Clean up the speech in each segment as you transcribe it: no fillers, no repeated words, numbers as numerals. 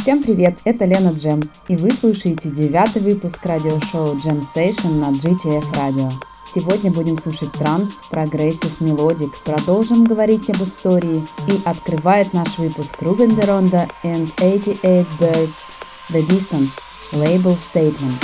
Всем привет, это Лена Джем, и вы слушаете 9-й выпуск радиошоу Jam Session на GTF Radio. Сегодня будем слушать транс, прогрессив, мелодик, продолжим говорить об истории, и открывает наш выпуск Ruben de Ronda and 88 Birds The Distance, Label Statement.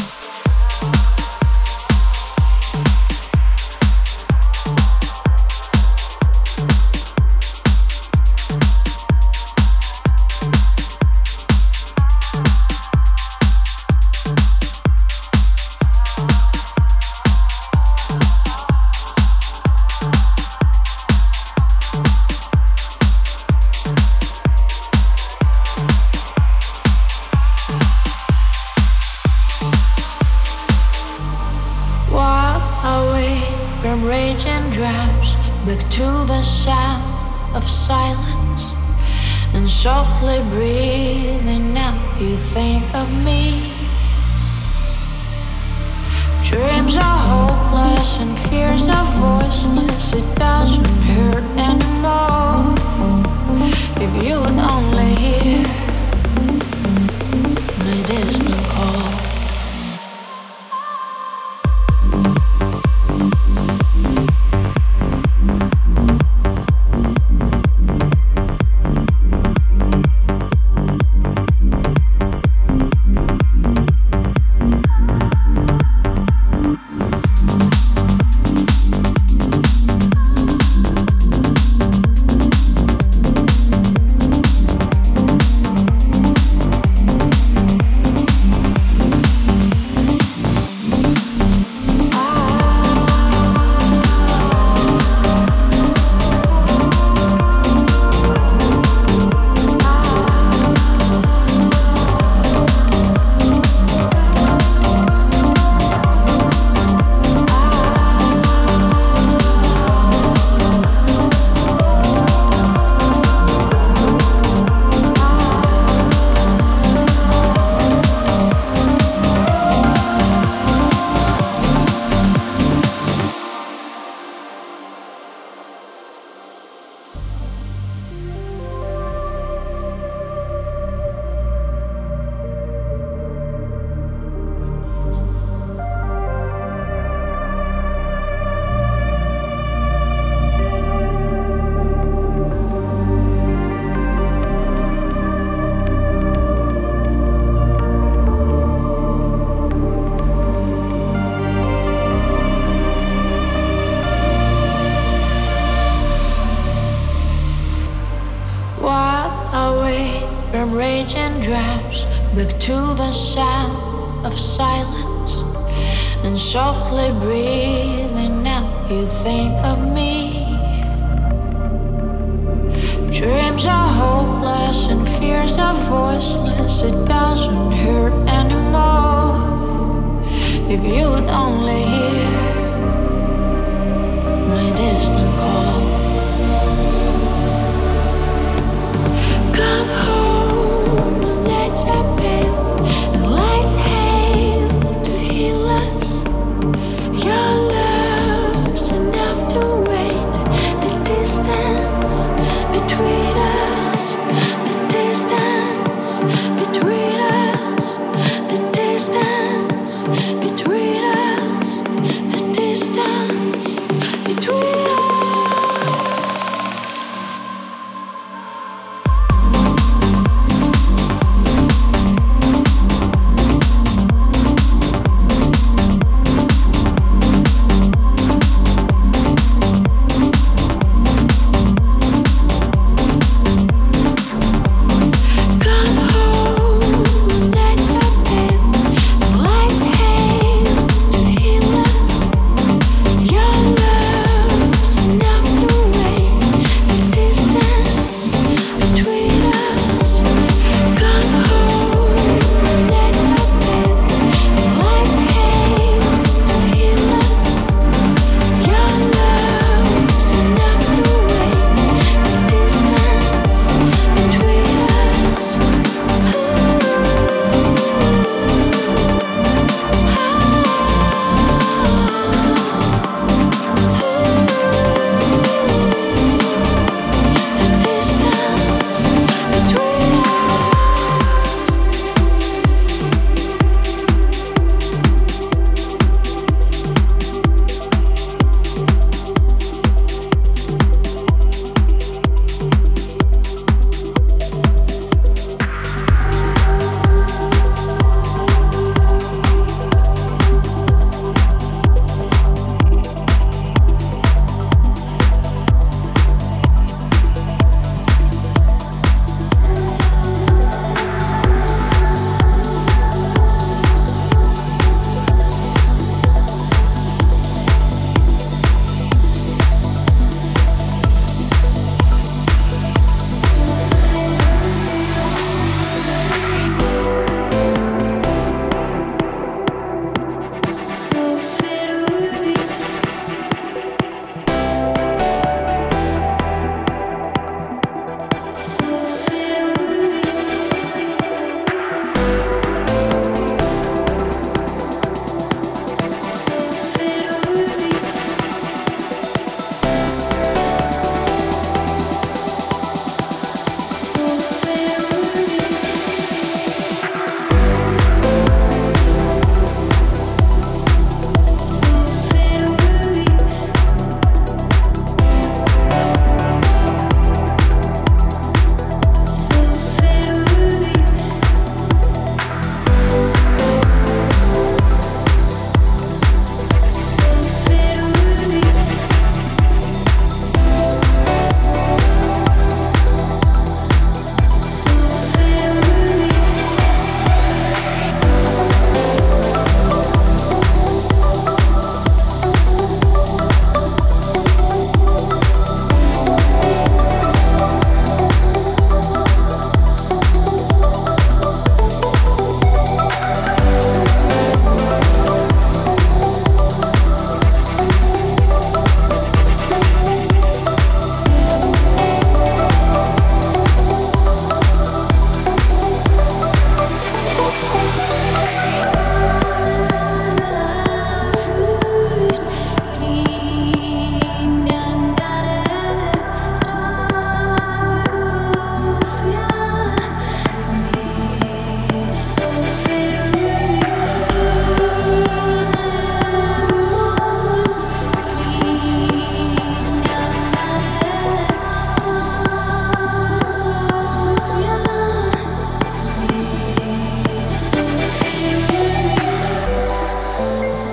Back to the sound of silence and softly breathing out, you think of me. Dreams are hopeless and fears are voiceless. It doesn't hurt anymore if you would only hear my distant call. Back to the sound of silence and softly breathing out, you think of me. Dreams are hopeless and fears are voiceless. It doesn't hurt anymore if you would only hear my distant call. Come home, nights are pale and lights hail to heal us. Your love's enough to wane the distance between us, the distance between us, the distance between us.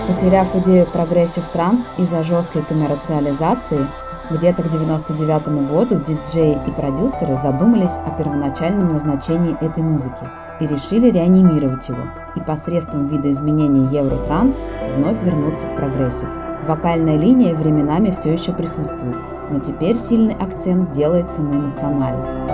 Потеряв идею прогрессив транс из-за жесткой коммерциализации, где-то к 1999 году диджеи и продюсеры задумались о первоначальном назначении этой музыки и решили реанимировать его и посредством видоизменения евротранс вновь вернуться к прогрессив. Вокальная линия временами все еще присутствует, но теперь сильный акцент делается на эмоциональность.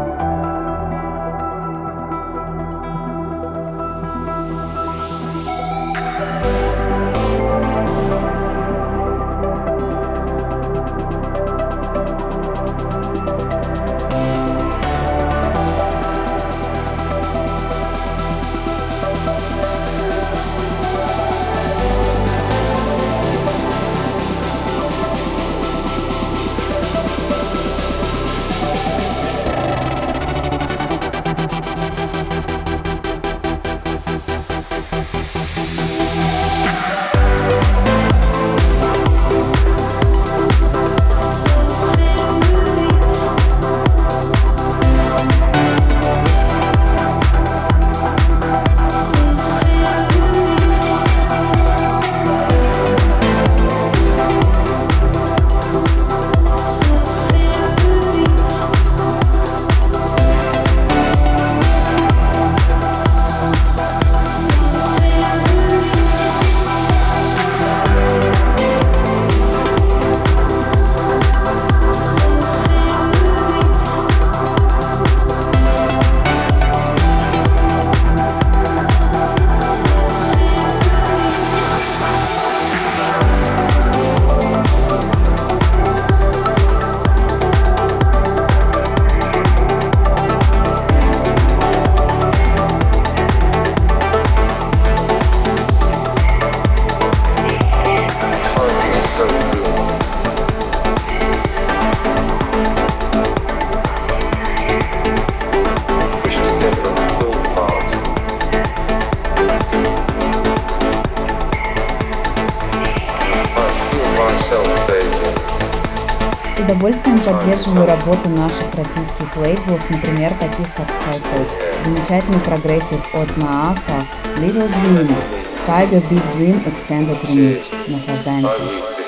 С удовольствием поддерживаю работу наших российских лейблов, например, таких как SkyTop. Замечательный прогрессив от Нааса, Little Dream, Tiger Big Dream Extended Remix. Наслаждаемся.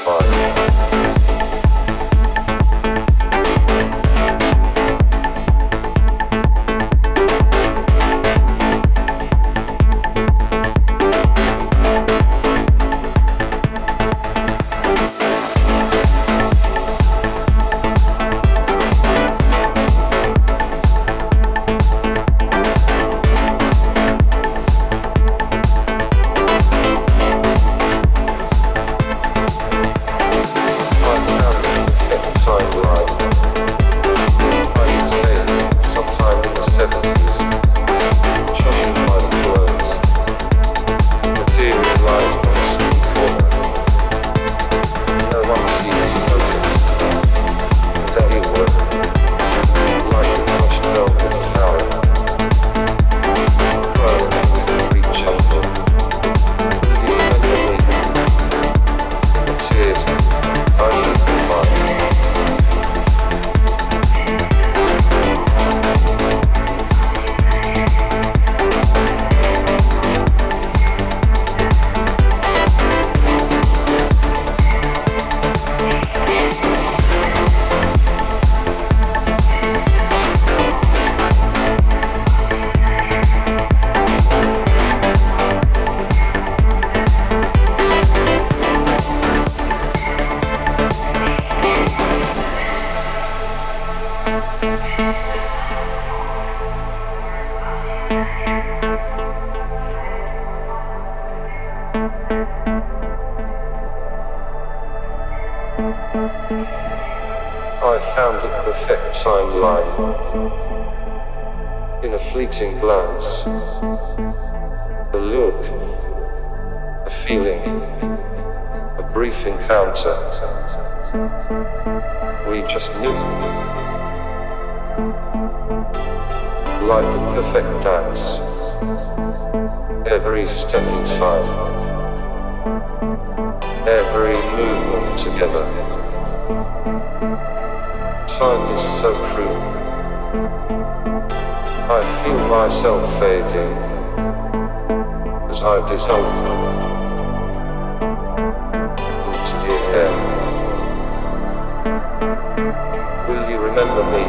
I found the perfect timeline in a fleeting glance, a look, a feeling, a brief encounter. We just knew, like a perfect dance, every step in time, every movement together. Time is so cruel. I feel myself fading as I dissolve remember me?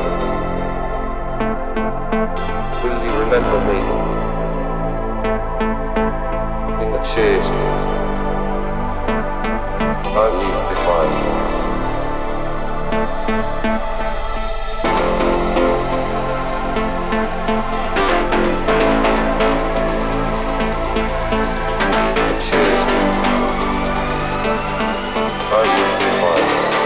Will you remember me? In the tears I leave behind. The tears I leave behind.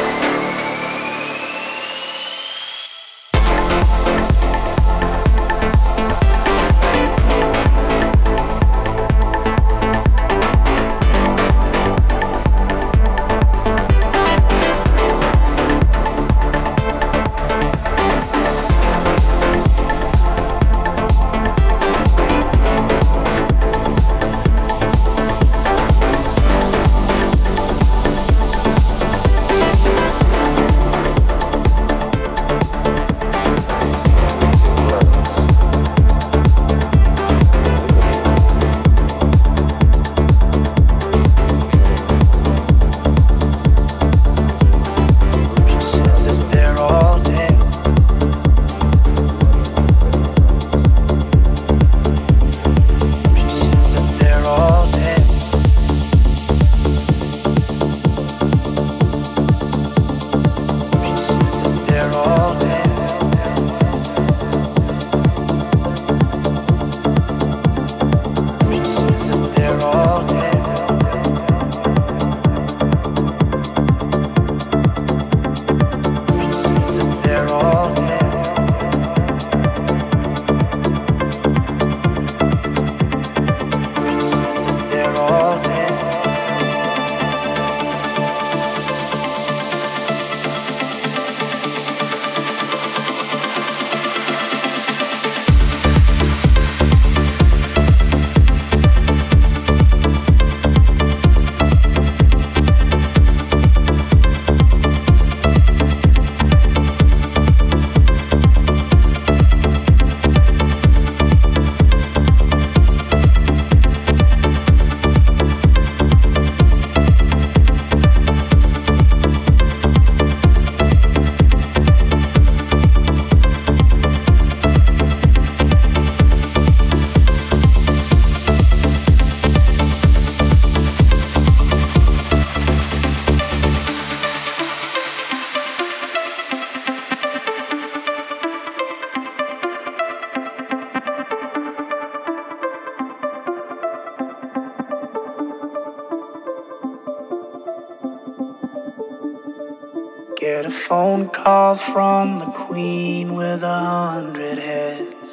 Get a phone call from the Queen with 100 heads.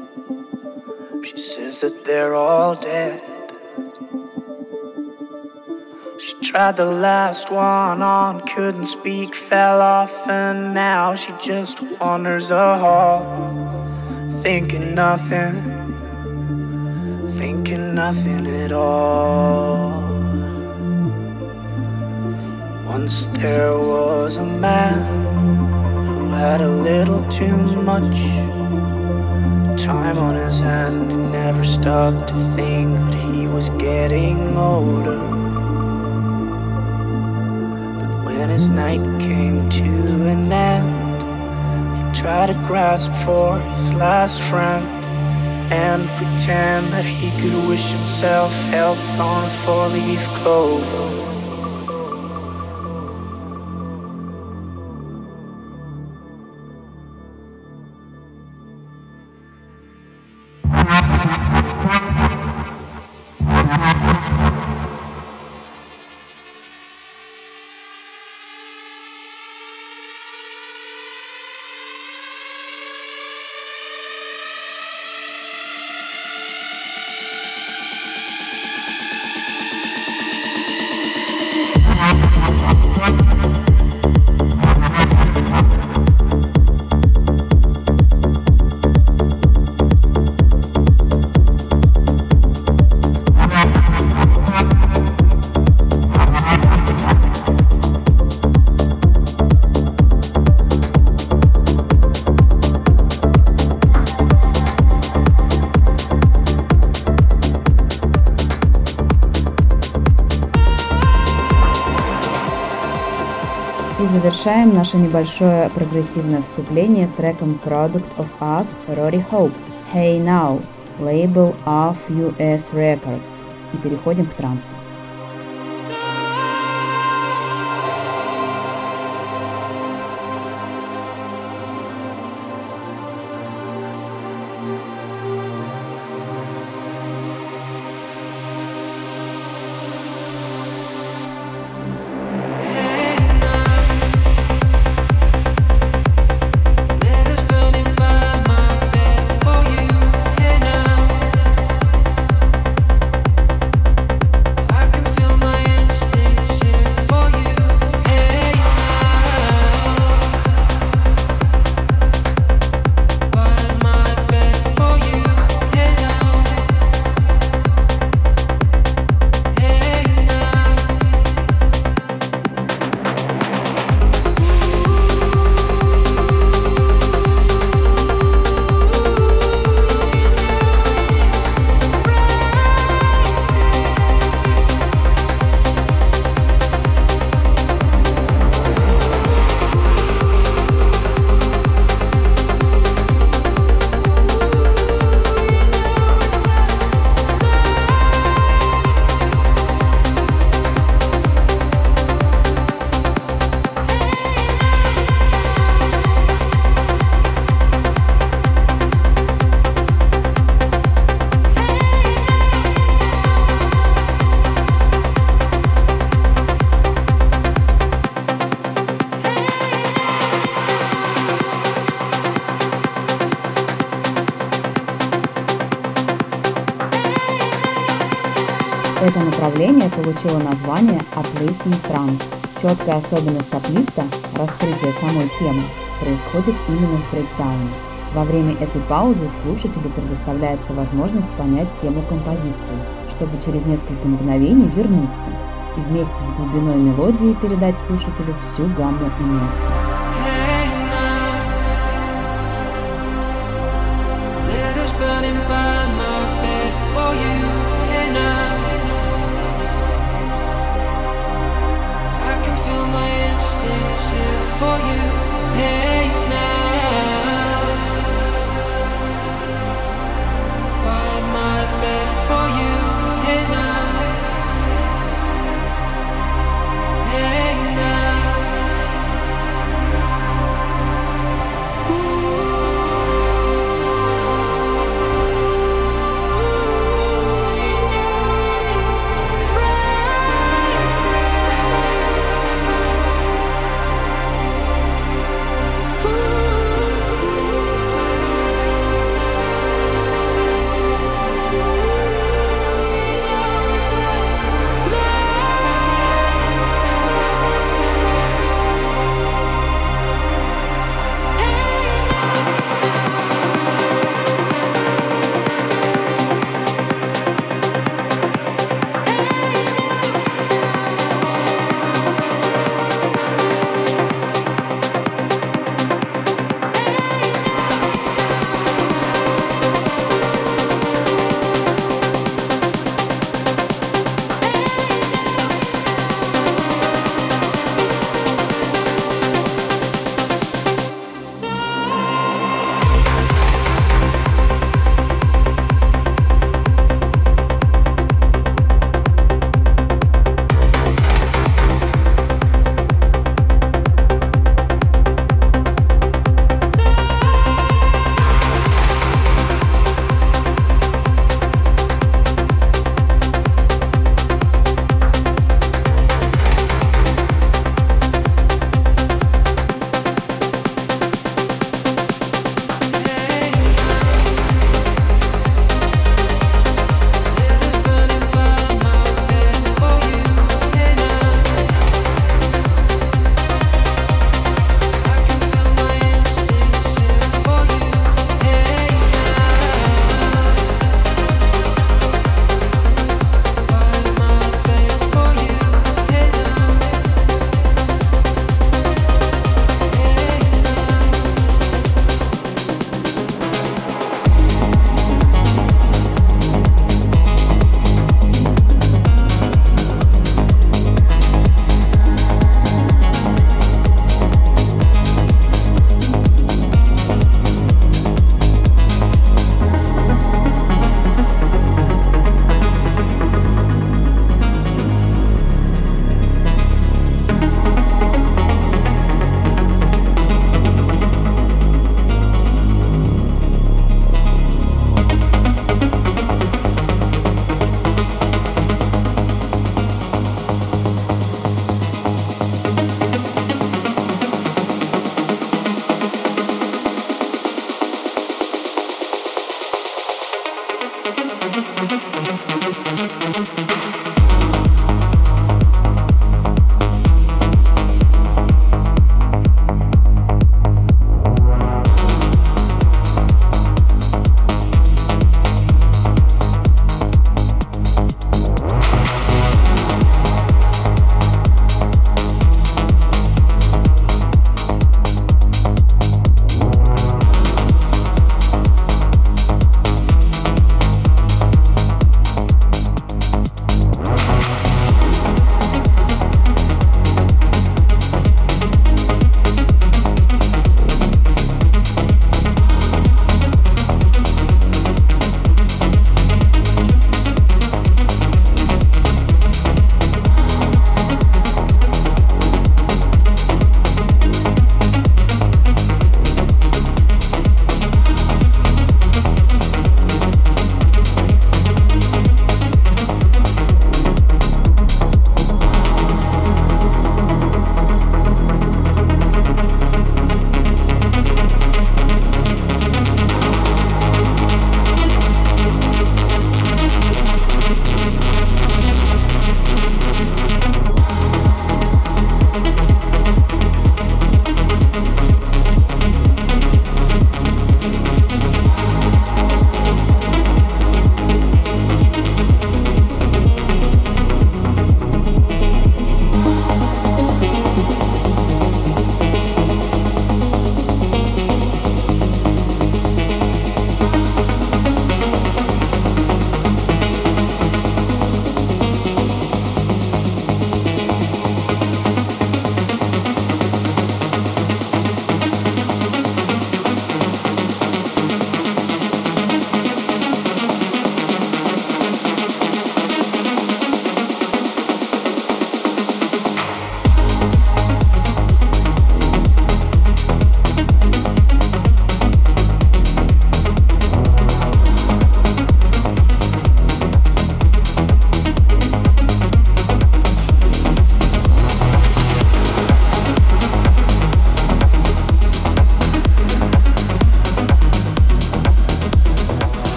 She says that they're all dead. She tried the last one on, couldn't speak, fell off, and now she just wanders a hall, thinking nothing at all. Once there was a man who had a little too much time on his hand. He never stopped to think that he was getting older. But when his night came to an end, he tried to grasp for his last friend and pretend that he could wish himself health on a four-leaf clover. завершаем наше небольшое прогрессивное вступление треком Product of Us Rory Hope Hey Now, лейбл Off US Records. И переходим к трансу. Это направление получило название Uplifting Trance. Четкая особенность аплифта – раскрытие самой темы – происходит именно в брейкдауне. Во время этой паузы слушателю предоставляется возможность понять тему композиции, чтобы через несколько мгновений вернуться и вместе с глубиной мелодии передать слушателю всю гамму эмоций. For you, hey now, by my bed for you, hey now, hey now.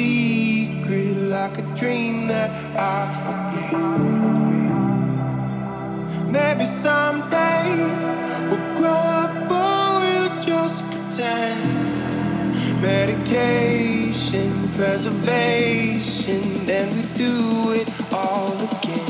secret, like a dream that I forget. Maybe someday we'll grow up or we'll just pretend. Medication, preservation, then we do it all again.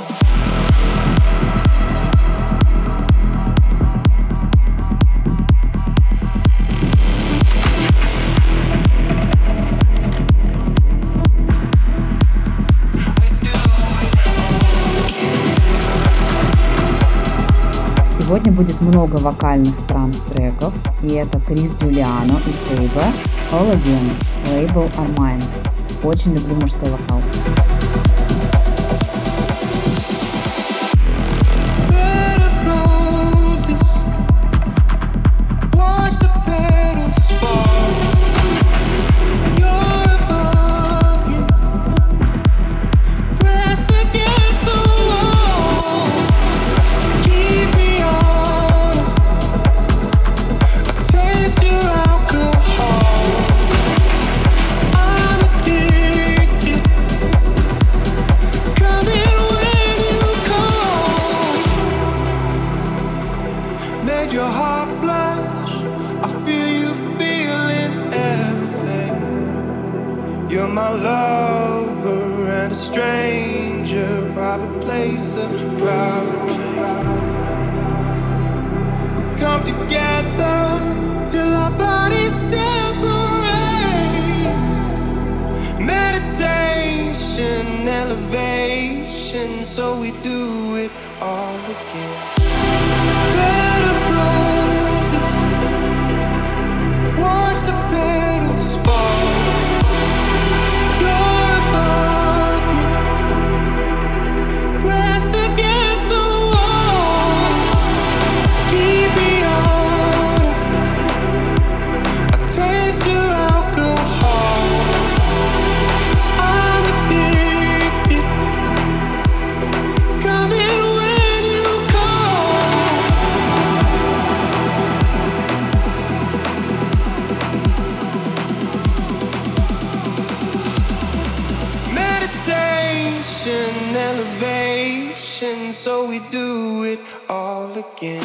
Сегодня будет много вокальных транс-треков, и это Крис Джулиано и Тейба, All Again, лейбл Armand. Очень люблю мужской вокал. So we do it all again. Bed of roses, watch the petals fall. You're above me, pressed against the wall. Keep me honest, I taste your alcohol. I'm addicted. Elevation, so we do it all again.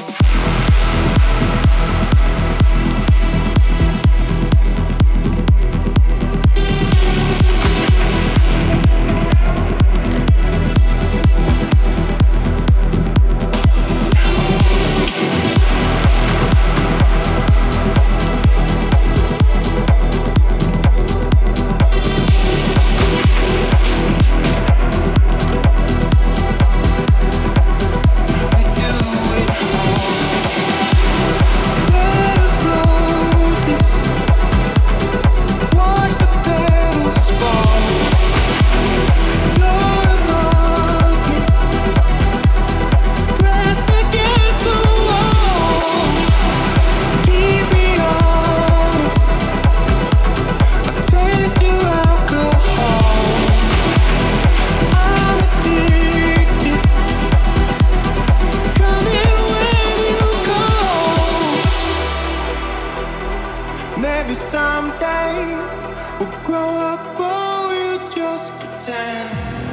Maybe someday we'll grow up or we'll just pretend.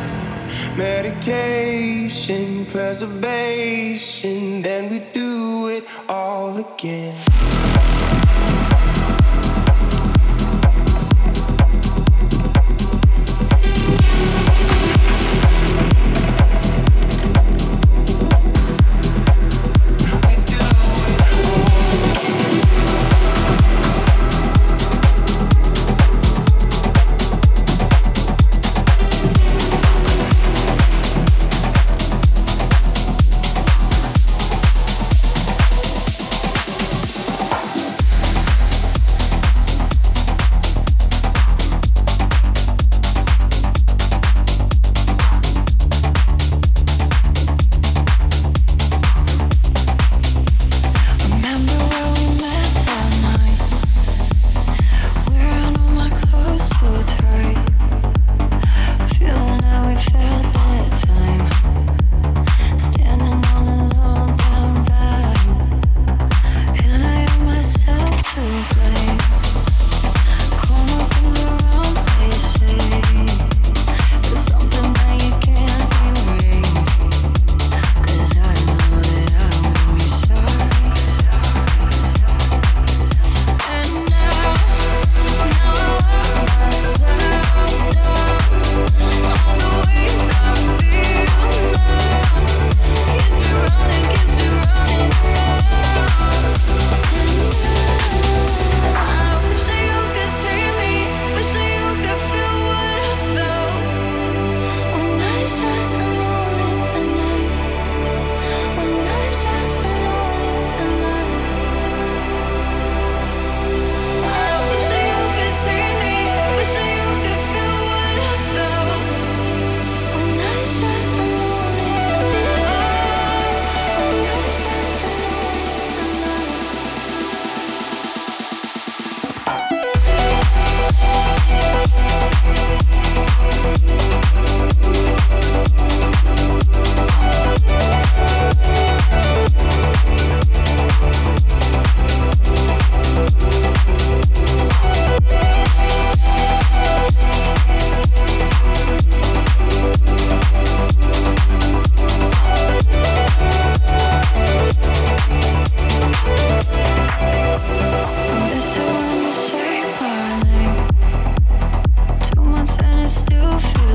Medication, preservation, then we do it all again.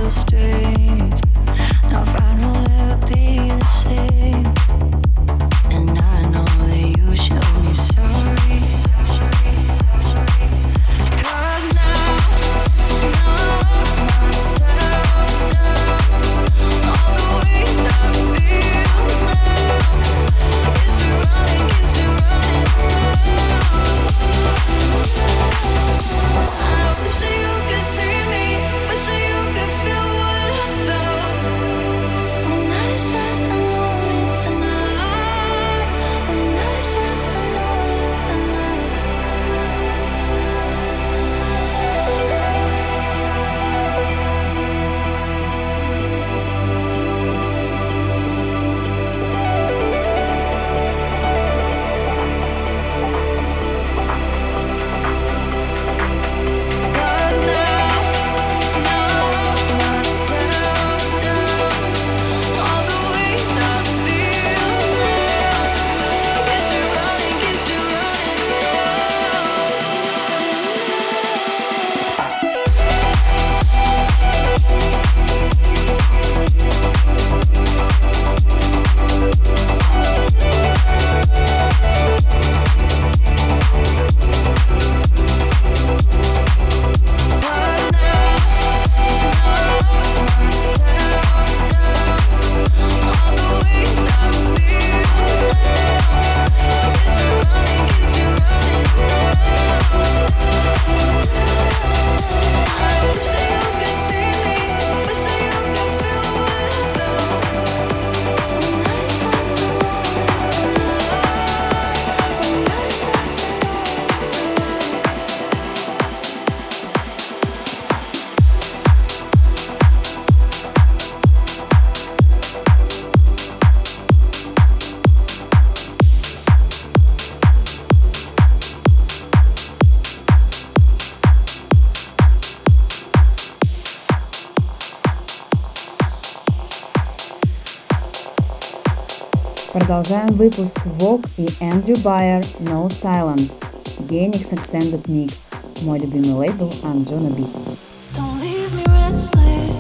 Продолжаем выпуск Vogue и Andrew Bayer No Silence. Genix Extended Mix. Мой любимый лейбл Anjuna Beats. Don't leave me restless.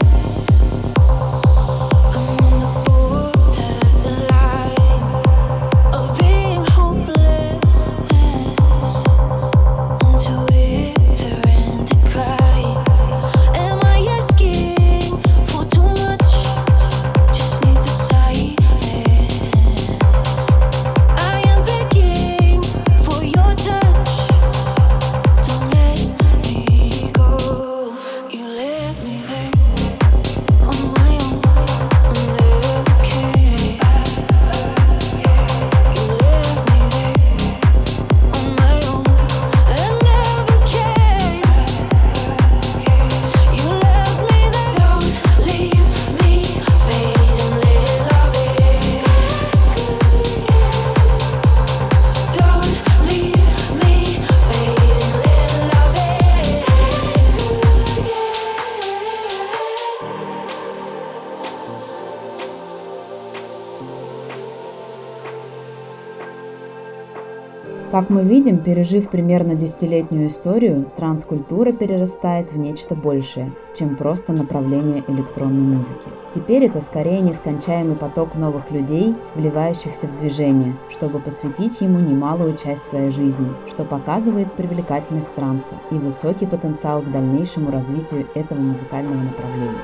I'm on the borderline of being hopeless, until wither and decline. Am I asking for too much? Just need the silence. I am begging for your touch. Don't let me go. You left me there on my own. I'm never okay. You left me there on my own and never came. You left me there. Don't leave me fading, little love it. Don't leave me fading, little love it. Как мы видим, пережив примерно десятилетнюю историю, транс-культура перерастает в нечто большее, чем просто направление электронной музыки. Теперь это скорее нескончаемый поток новых людей, вливающихся в движение, чтобы посвятить ему немалую часть своей жизни, что показывает привлекательность транса и высокий потенциал к дальнейшему развитию этого музыкального направления.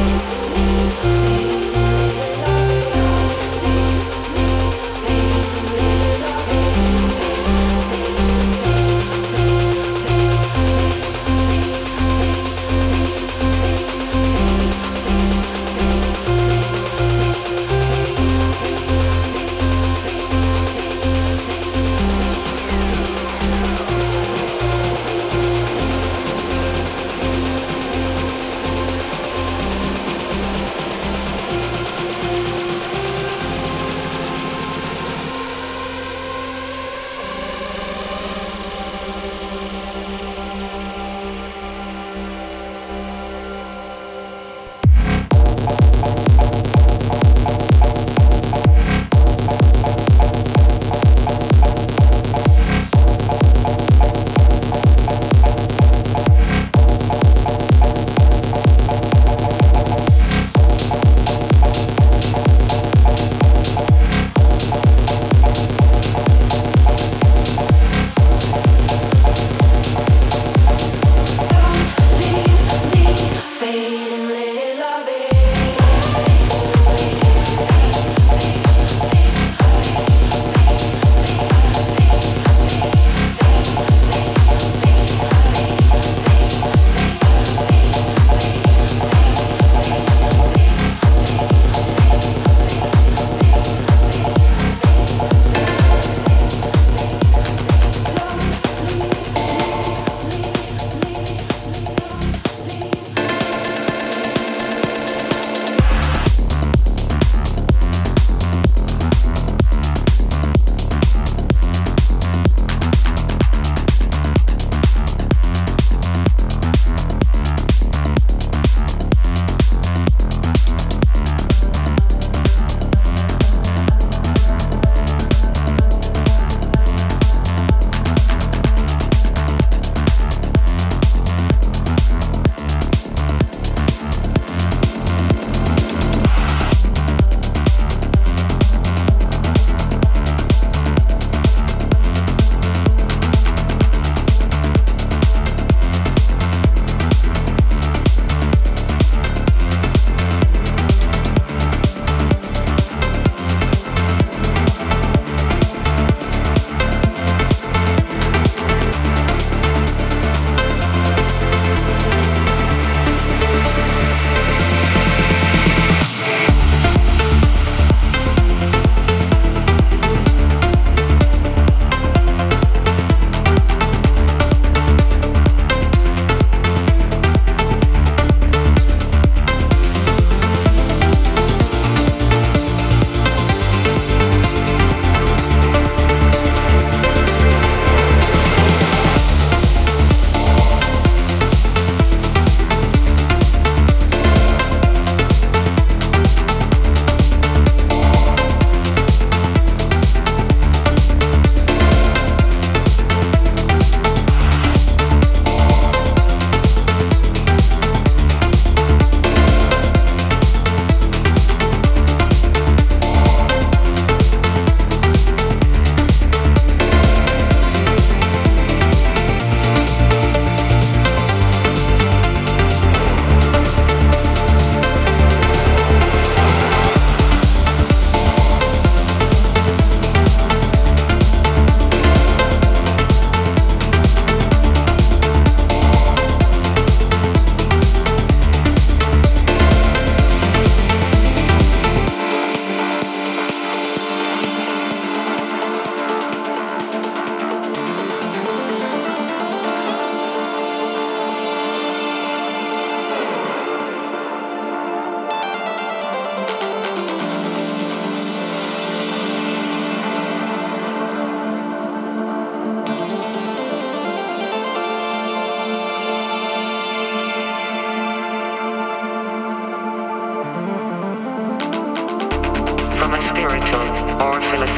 Fading,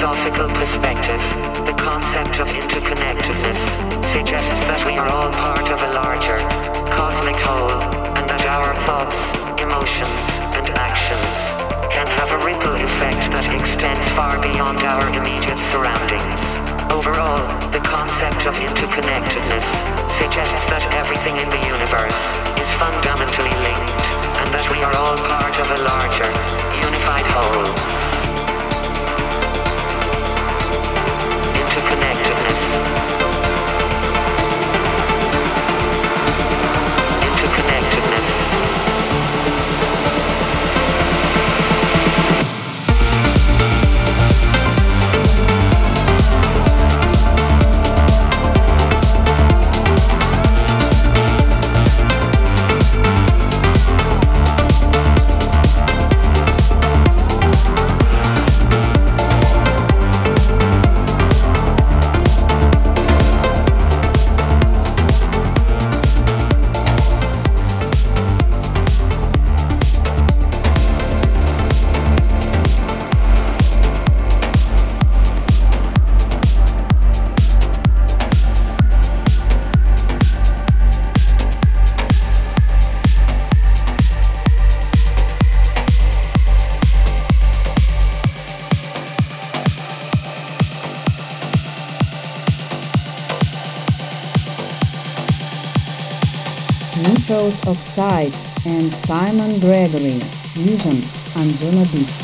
philosophical perspective, the concept of interconnectedness suggests that we are all part of a larger, cosmic whole, and that our thoughts, emotions, and actions can have a ripple effect that extends far beyond our immediate surroundings. Overall, the concept of interconnectedness suggests that everything in the universe is fundamentally linked, and that we are all part of a larger, unified whole. Interconnectedness. Interconnectedness. Nitrous Oxide and Simon Gregory, Fusion on Juno Beats.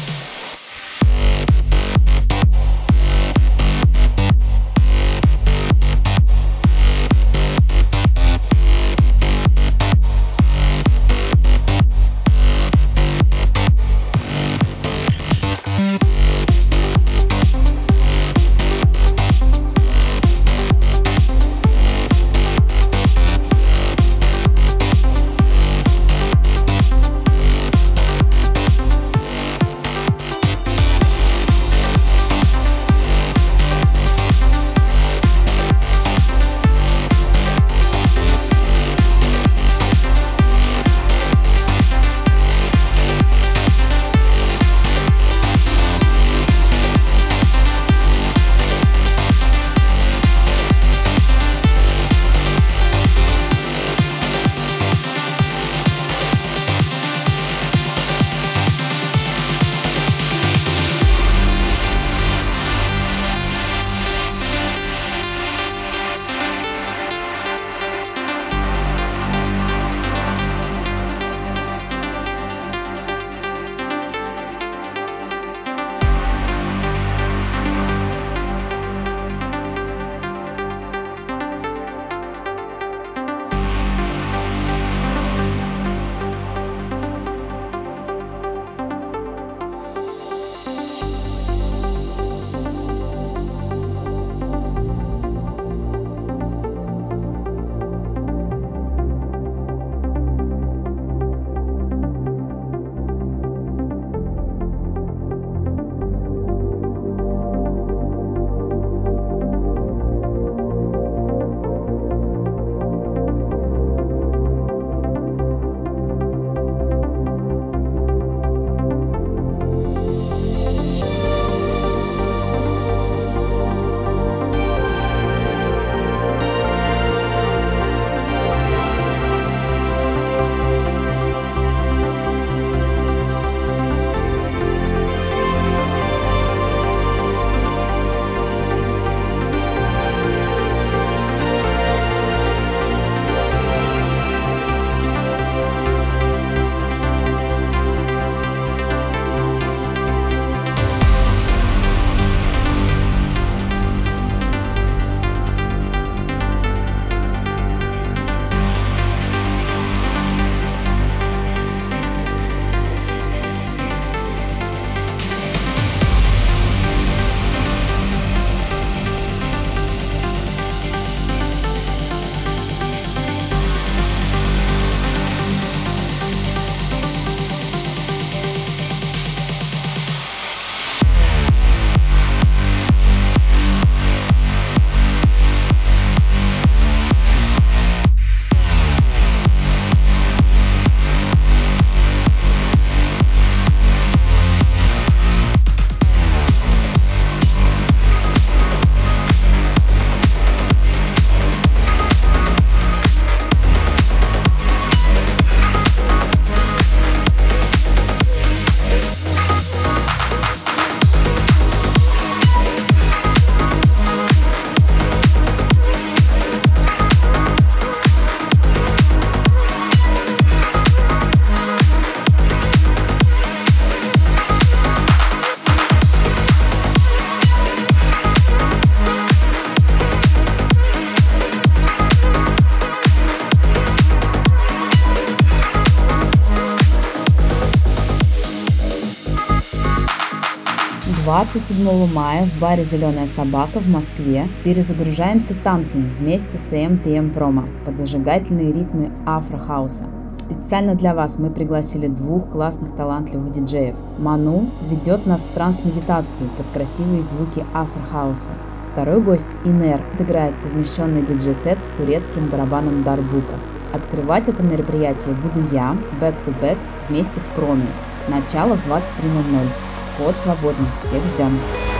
27 мая в баре «Зеленая собака» в Москве перезагружаемся танцами вместе с AM/PM Promo под зажигательные ритмы афро-хауса. Специально для вас мы пригласили двух классных талантливых диджеев. Ману ведет нас в транс-медитацию под красивые звуки афро-хауса. Второй гость Инер отыграет совмещенный диджей-сет с турецким барабаном дарбука. Открывать это мероприятие буду я, back-to-back, вместе с Проми. Начало в 23:00. Вход свободный. Всех ждем.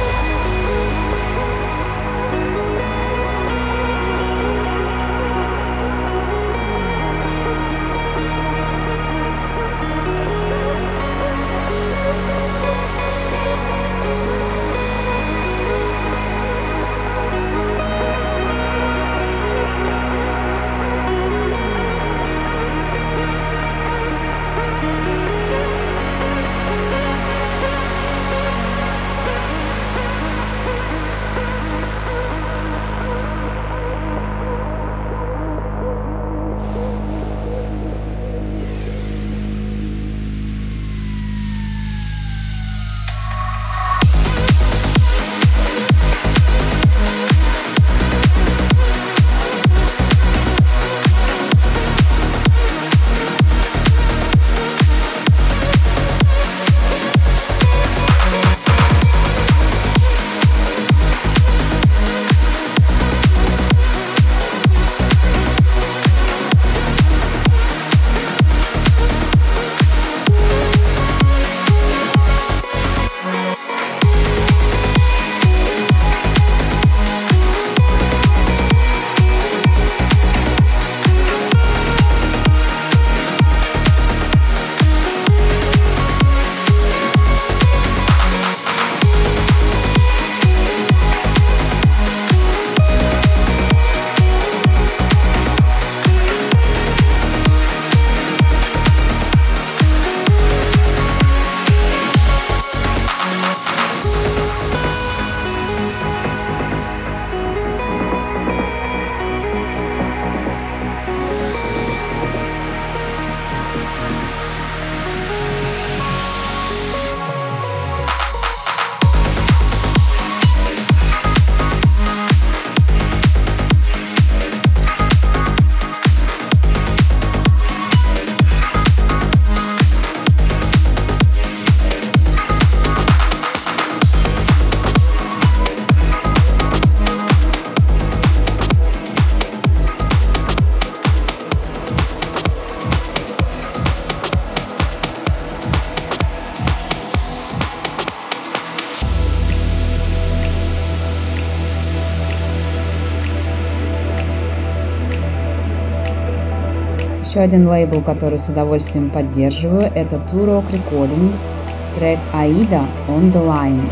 Еще один лейбл, который с удовольствием поддерживаю, это Turok Recordings, трек Aida On The Line.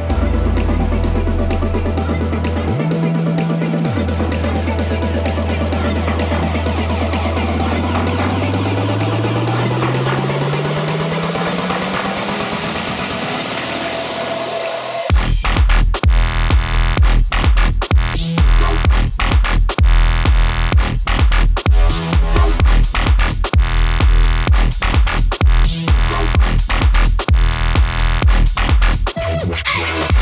Yeah.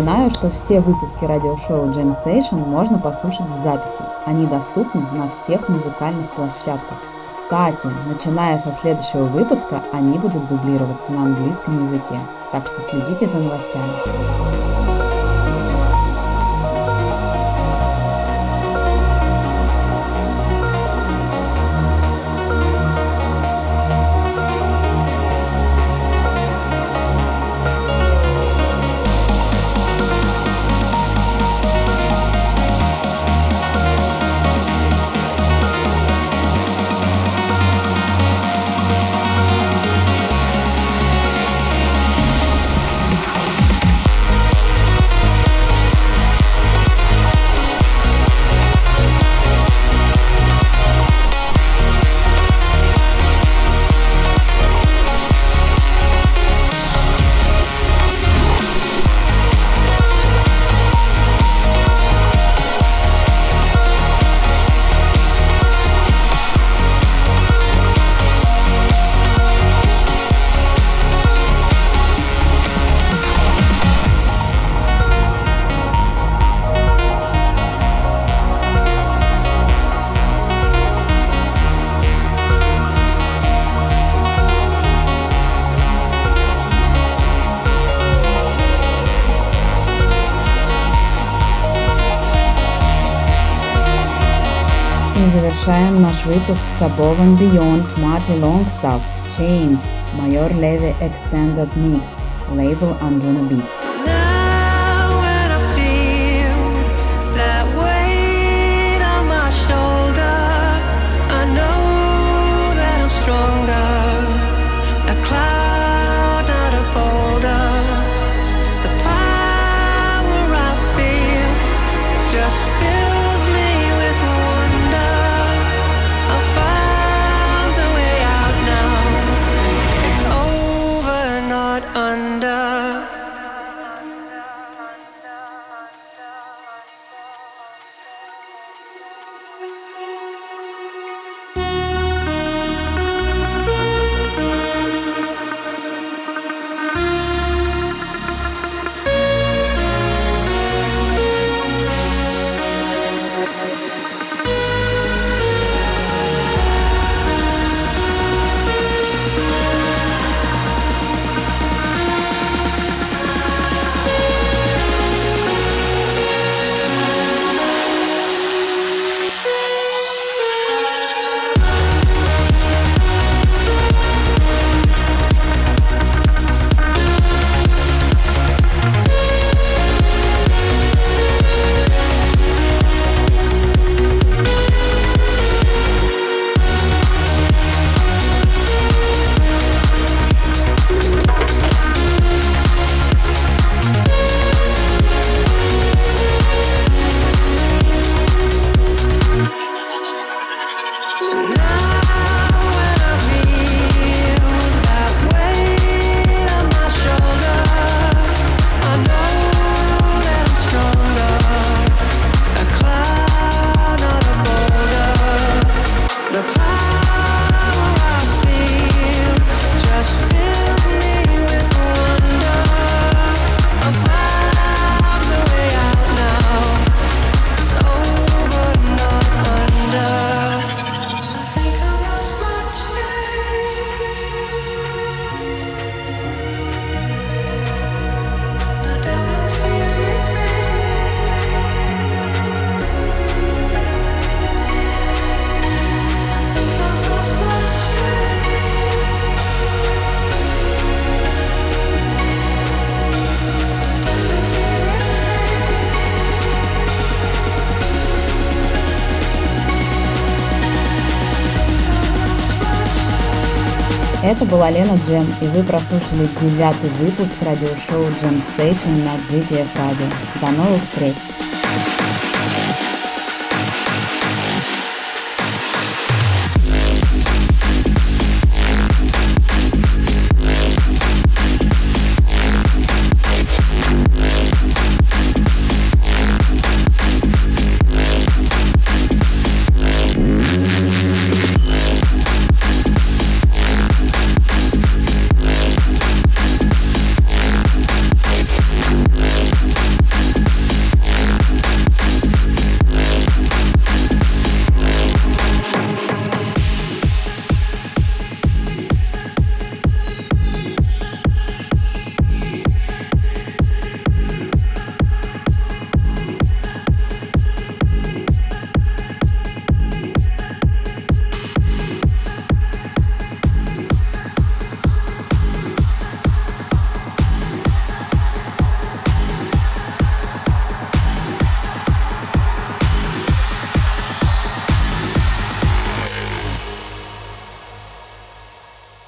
Напоминаю, что все выпуски радиошоу Jam Session можно послушать в записи. Они доступны на всех музыкальных площадках. Кстати, начиная со следующего выпуска, они будут дублироваться на английском языке. Так что следите за новостями. И завершаем наш выпуск с Above and Beyond Marty Longstaff, Chains, Major Levi Extended Mix, label Anduna Beats. Now when I feel that weight on my shoulder, I know that I'm stronger. A cloud, not a boulder. The power I feel just fills me with wonder. I found the way out now. It's over, not under. Это была Лена Джем, и вы прослушали 9-й выпуск радиошоу Jam Session на GTF Radio. До новых встреч!